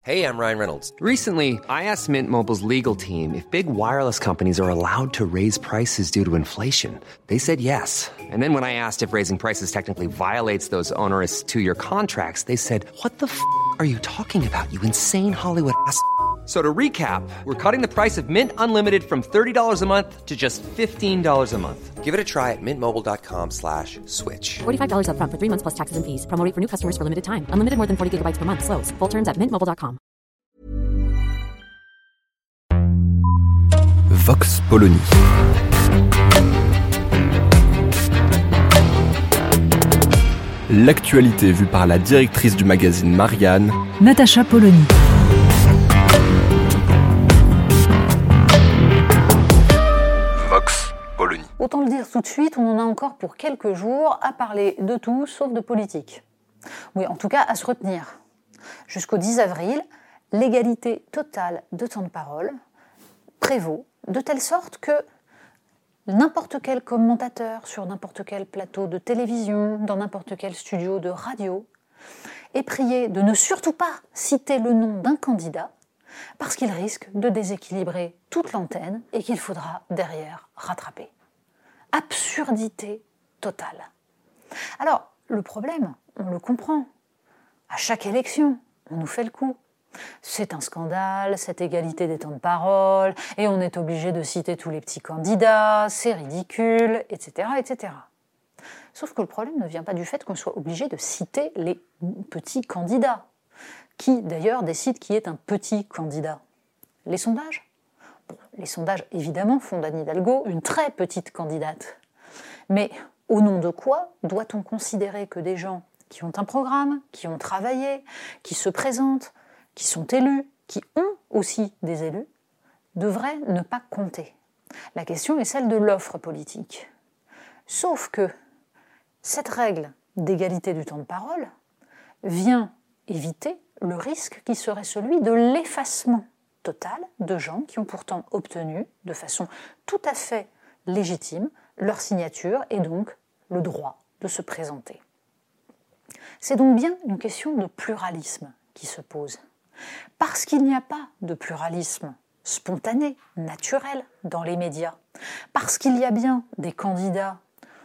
Hey, I'm Ryan Reynolds. Recently, I asked Mint Mobile's legal team if big wireless companies are allowed to raise prices due to inflation. They said yes. And then when I asked if raising prices technically violates those onerous two-year contracts, they said, "What the f*** are you talking about, you insane Hollywood ass?" So to recap, we're cutting the price of Mint Unlimited from $30 a month to just $15 a month. Give it a try at mintmobile.com/switch. $45 up front for 3 months plus taxes and fees. Promo rate for new customers for limited time. Unlimited more than 40 gigabytes per month. Slows full terms at mintmobile.com. Vox Polony. L'actualité vue par la directrice du magazine Marianne, Natacha Polony. Vox Polony. Autant le dire tout de suite, on en a encore pour quelques jours à parler de tout sauf de politique. Oui, en tout cas à se retenir. Jusqu'au 10 avril, l'égalité totale de temps de parole prévaut de telle sorte que n'importe quel commentateur sur n'importe quel plateau de télévision, dans n'importe quel studio de radio, est prié de ne surtout pas citer le nom d'un candidat parce qu'il risque de déséquilibrer toute l'antenne et qu'il faudra derrière rattraper. Absurdité totale. Alors, le problème, on le comprend. À chaque élection, on nous fait le coup. C'est un scandale, cette égalité des temps de parole, et on est obligé de citer tous les petits candidats, c'est ridicule, etc., etc. Sauf que le problème ne vient pas du fait qu'on soit obligé de citer les petits candidats. Qui, d'ailleurs, décide qui est un petit candidat ? Les sondages ? Bon, les sondages, évidemment, font d'Anne Hidalgo une très petite candidate. Mais au nom de quoi doit-on considérer que des gens qui ont un programme, qui ont travaillé, qui se présentent, qui sont élus, qui ont aussi des élus, devraient ne pas compter ? La question est celle de l'offre politique. Sauf que cette règle d'égalité du temps de parole vient éviter le risque qui serait celui de l'effacement total de gens qui ont pourtant obtenu de façon tout à fait légitime leur signature et donc le droit de se présenter. C'est donc bien une question de pluralisme qui se pose. Parce qu'il n'y a pas de pluralisme spontané, naturel dans les médias, parce qu'il y a bien des candidats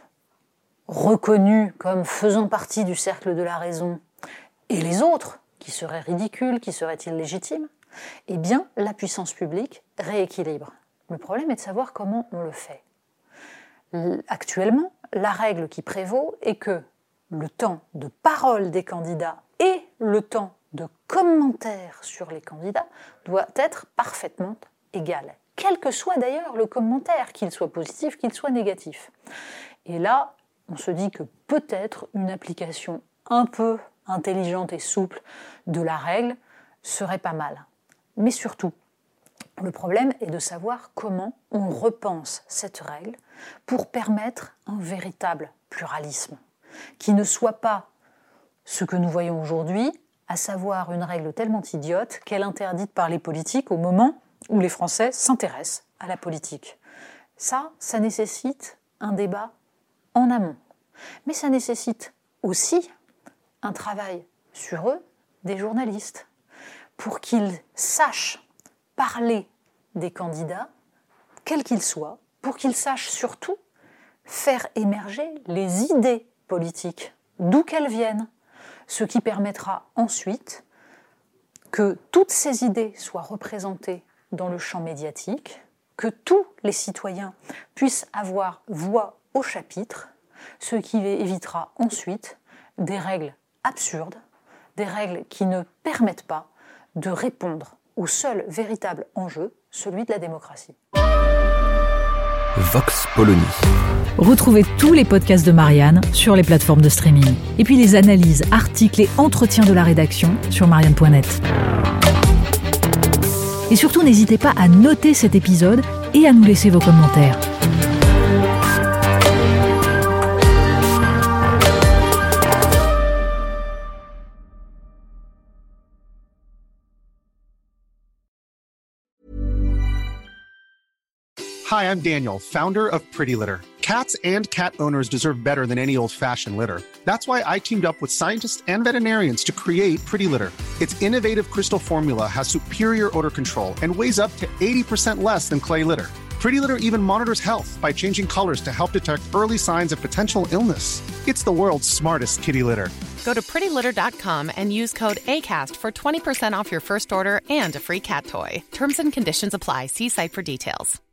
reconnus comme faisant partie du cercle de la raison, et les autres, qui seraient ridicules, qui seraient illégitimes, eh bien, la puissance publique rééquilibre. Le problème est de savoir comment on le fait. Actuellement, la règle qui prévaut est que le temps de parole des candidats et le temps de commentaire sur les candidats doit être parfaitement égal. Quel que soit d'ailleurs le commentaire, qu'il soit positif, qu'il soit négatif. Et là, on se dit que peut-être une application un peu intelligente et souple de la règle serait pas mal. Mais surtout, le problème est de savoir comment on repense cette règle pour permettre un véritable pluralisme, qui ne soit pas ce que nous voyons aujourd'hui, à savoir une règle tellement idiote qu'elle est interdite par les politiques au moment où les Français s'intéressent à la politique. Ça nécessite un débat en amont. Mais ça nécessite aussi un travail sur eux des journalistes pour qu'ils sachent parler des candidats, quels qu'ils soient, pour qu'ils sachent surtout faire émerger les idées politiques, d'où qu'elles viennent, ce qui permettra ensuite que toutes ces idées soient représentées dans le champ médiatique, que tous les citoyens puissent avoir voix au chapitre, ce qui évitera ensuite des règles absurdes, des règles qui ne permettent pas de répondre au seul véritable enjeu, celui de la démocratie. Vox Polony. Retrouvez tous les podcasts de Marianne sur les plateformes de streaming. Et puis les analyses, articles et entretiens de la rédaction sur marianne.net. Et surtout, n'hésitez pas à noter cet épisode et à nous laisser vos commentaires. Hi, I'm Daniel, founder of Pretty Litter. Cats and cat owners deserve better than any old-fashioned litter. That's why I teamed up with scientists and veterinarians to create Pretty Litter. Its innovative crystal formula has superior odor control and weighs up to 80% less than clay litter. Pretty Litter even monitors health by changing colors to help detect early signs of potential illness. It's the world's smartest kitty litter. Go to prettylitter.com and use code ACAST for 20% off your first order and a free cat toy. Terms and conditions apply. See site for details.